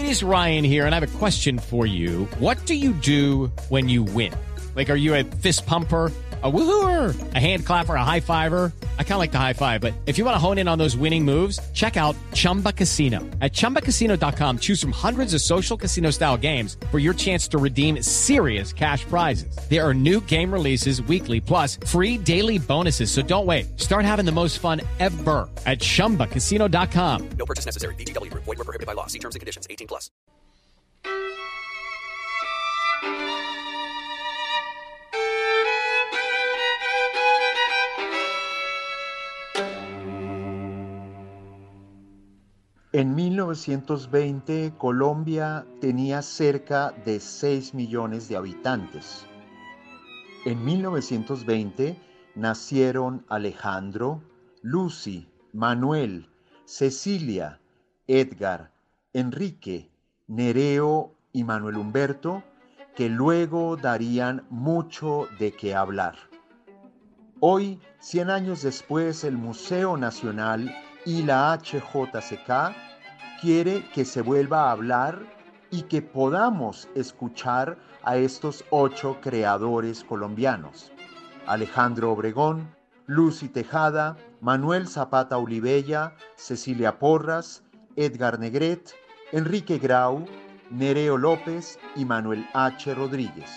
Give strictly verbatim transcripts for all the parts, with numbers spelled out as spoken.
is Ryan here, and I have a question for you. What do you do when you win? Like, are you a fist pumper, a woohooer, a hand clapper, a high fiver? I kind of like the high five, but if you want to hone in on those winning moves, check out Chumba Casino. At chumba casino dot com, choose from hundreds of social casino style games for your chance to redeem serious cash prizes. There are new game releases weekly, plus free daily bonuses. So don't wait. Start having the most fun ever at chumba casino dot com. No purchase necessary. V G W Group. Void where prohibited by law. See terms and conditions. eighteen plus. En mil novecientos veinte, Colombia tenía cerca de seis millones de habitantes. En mil novecientos veinte nacieron Alejandro, Lucy, Manuel, Cecilia, Edgar, Enrique, Nereo y Manuel Humberto, que luego darían mucho de qué hablar. Hoy, cien años después, el Museo Nacional y la H J C K quiere que se vuelva a hablar y que podamos escuchar a estos ocho creadores colombianos: Alejandro Obregón, Lucy Tejada, Manuel Zapata Olivella, Cecilia Porras, Edgar Negret, Enrique Grau, Nereo López y Manuel H. Rodríguez.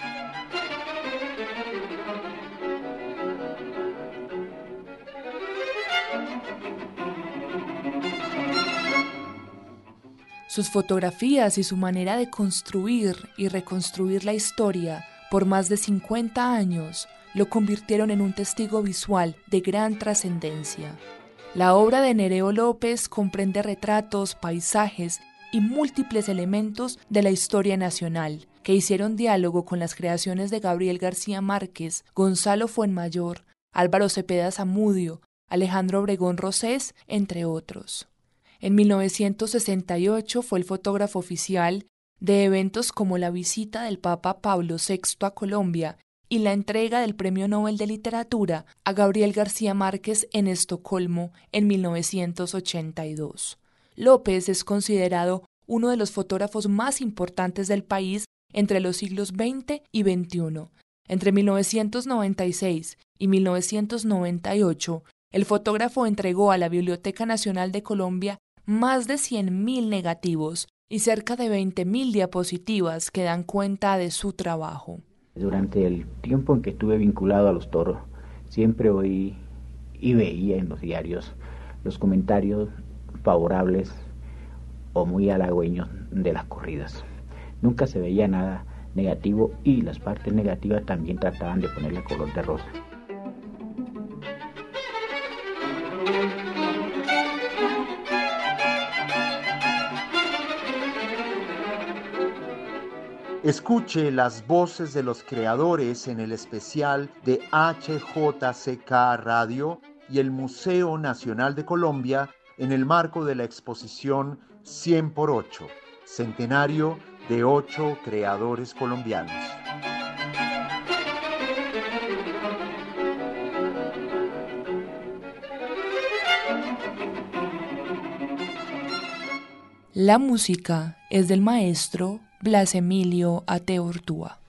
Sus fotografías y su manera de construir y reconstruir la historia por más de cincuenta años lo convirtieron en un testigo visual de gran trascendencia. La obra de Nereo López comprende retratos, paisajes y múltiples elementos de la historia nacional que hicieron diálogo con las creaciones de Gabriel García Márquez, Gonzalo Fuenmayor, Álvaro Cepeda Zamudio, Alejandro Obregón Rosés, entre otros. En mil novecientos sesenta y ocho fue el fotógrafo oficial de eventos como la visita del Papa Pablo sexto a Colombia y la entrega del Premio Nobel de Literatura a Gabriel García Márquez en Estocolmo en mil novecientos ochenta y dos. López es considerado uno de los fotógrafos más importantes del país entre los siglos veinte y veintiuno. Entre mil novecientos noventa y seis y mil novecientos noventa y ocho, el fotógrafo entregó a la Biblioteca Nacional de Colombia más de cien mil negativos y cerca de veinte mil diapositivas que dan cuenta de su trabajo. Durante el tiempo en que estuve vinculado a los toros, siempre oí y veía en los diarios los comentarios favorables o muy halagüeños de las corridas. Nunca se veía nada negativo y las partes negativas también trataban de ponerle color de rosa. Escuche las voces de los creadores en el especial de H J C K Radio y el Museo Nacional de Colombia en el marco de la exposición cien por ocho, centenario de ocho creadores colombianos. La música es del maestro Blas Emilio Ateortúa.